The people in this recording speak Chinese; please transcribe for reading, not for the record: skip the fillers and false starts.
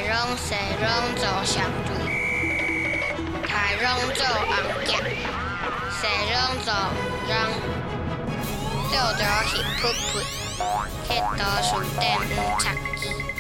拢西拢做相对，台拢做红夹，西拢做黄嚷，做着翕噗噗，迄图书店毋插旗。